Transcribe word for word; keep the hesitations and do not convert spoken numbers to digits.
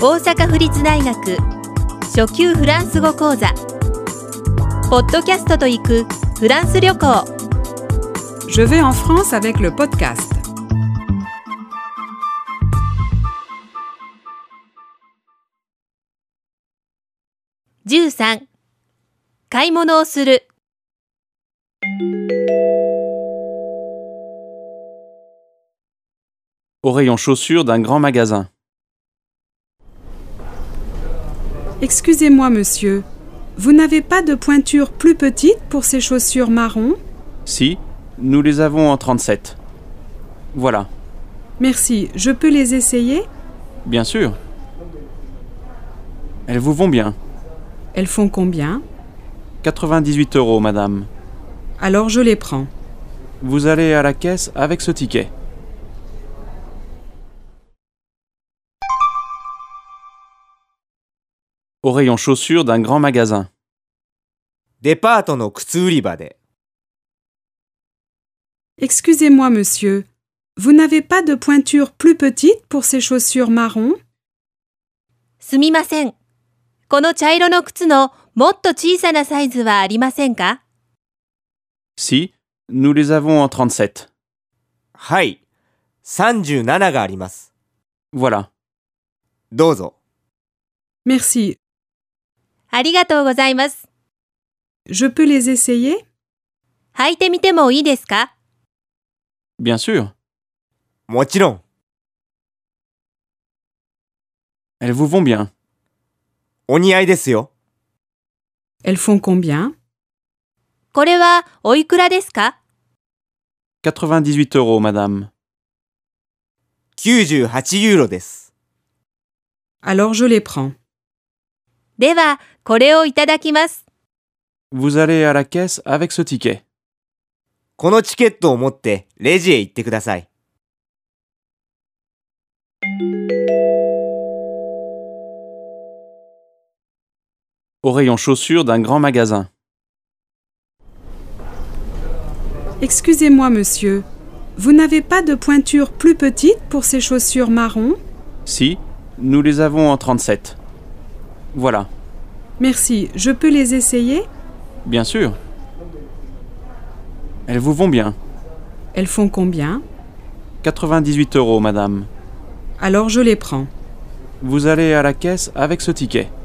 大阪府立大学初級フランス語講座ポッドキャストと行くフランス旅行 Je vais en France avec le podcast. じゅうさん買い物をする Au rayon chaussures d'un grand magasin. Excusez-moi, monsieur. Vous n'avez pas de pointure plus petite pour ces chaussures marron? Si, nous les avons en trente-sept. Voilà. Merci. Je peux les essayer? Bien sûr. Elles vous vont bien. Elles font combien? quatre-vingt-dix-huit euros, madame. Alors je les prends. Vous allez à la caisse avec ce ticket. Au rayon chaussures d'un grand magasin. デパートの靴売り場で。 Excusez-moi, monsieur. Vous n'avez pas de pointure plus petite pour ces chaussures marron? すみません。この茶色の靴のもっと小さなサイズはありませんか？ Si, nous les avons en trente-sept. はい。さんじゅうなながあります。 Voilà. どうぞ。 Merci. ありがとうございます。 Je peux les essayer? 履いてみてもいいですか？ Bien sûr. もちろん。 Elles vous vont bien. お似合いですよ。 Elles font combien? これはおいくらですか？ quatre-vingt-dix-huit euros, madame. きゅうじゅうはちユーロです。 Alors je les prends. では、これをいただきます。 Vous allez à la caisse avec ce ticket. このチケットを持ってレジへ行ってください。 Au rayon chaussures d'un grand magasin. Excusez-moi, monsieur. Vous n'avez pas de pointure plus petite pour ces chaussures marron? Si, nous les avons en trente-sept. Voilà. Merci. Je peux les essayer? Bien sûr. Elles vous vont bien. Elles font combien? quatre-vingt-dix-huit euros, madame. Alors je les prends. Vous allez à la caisse avec ce ticket.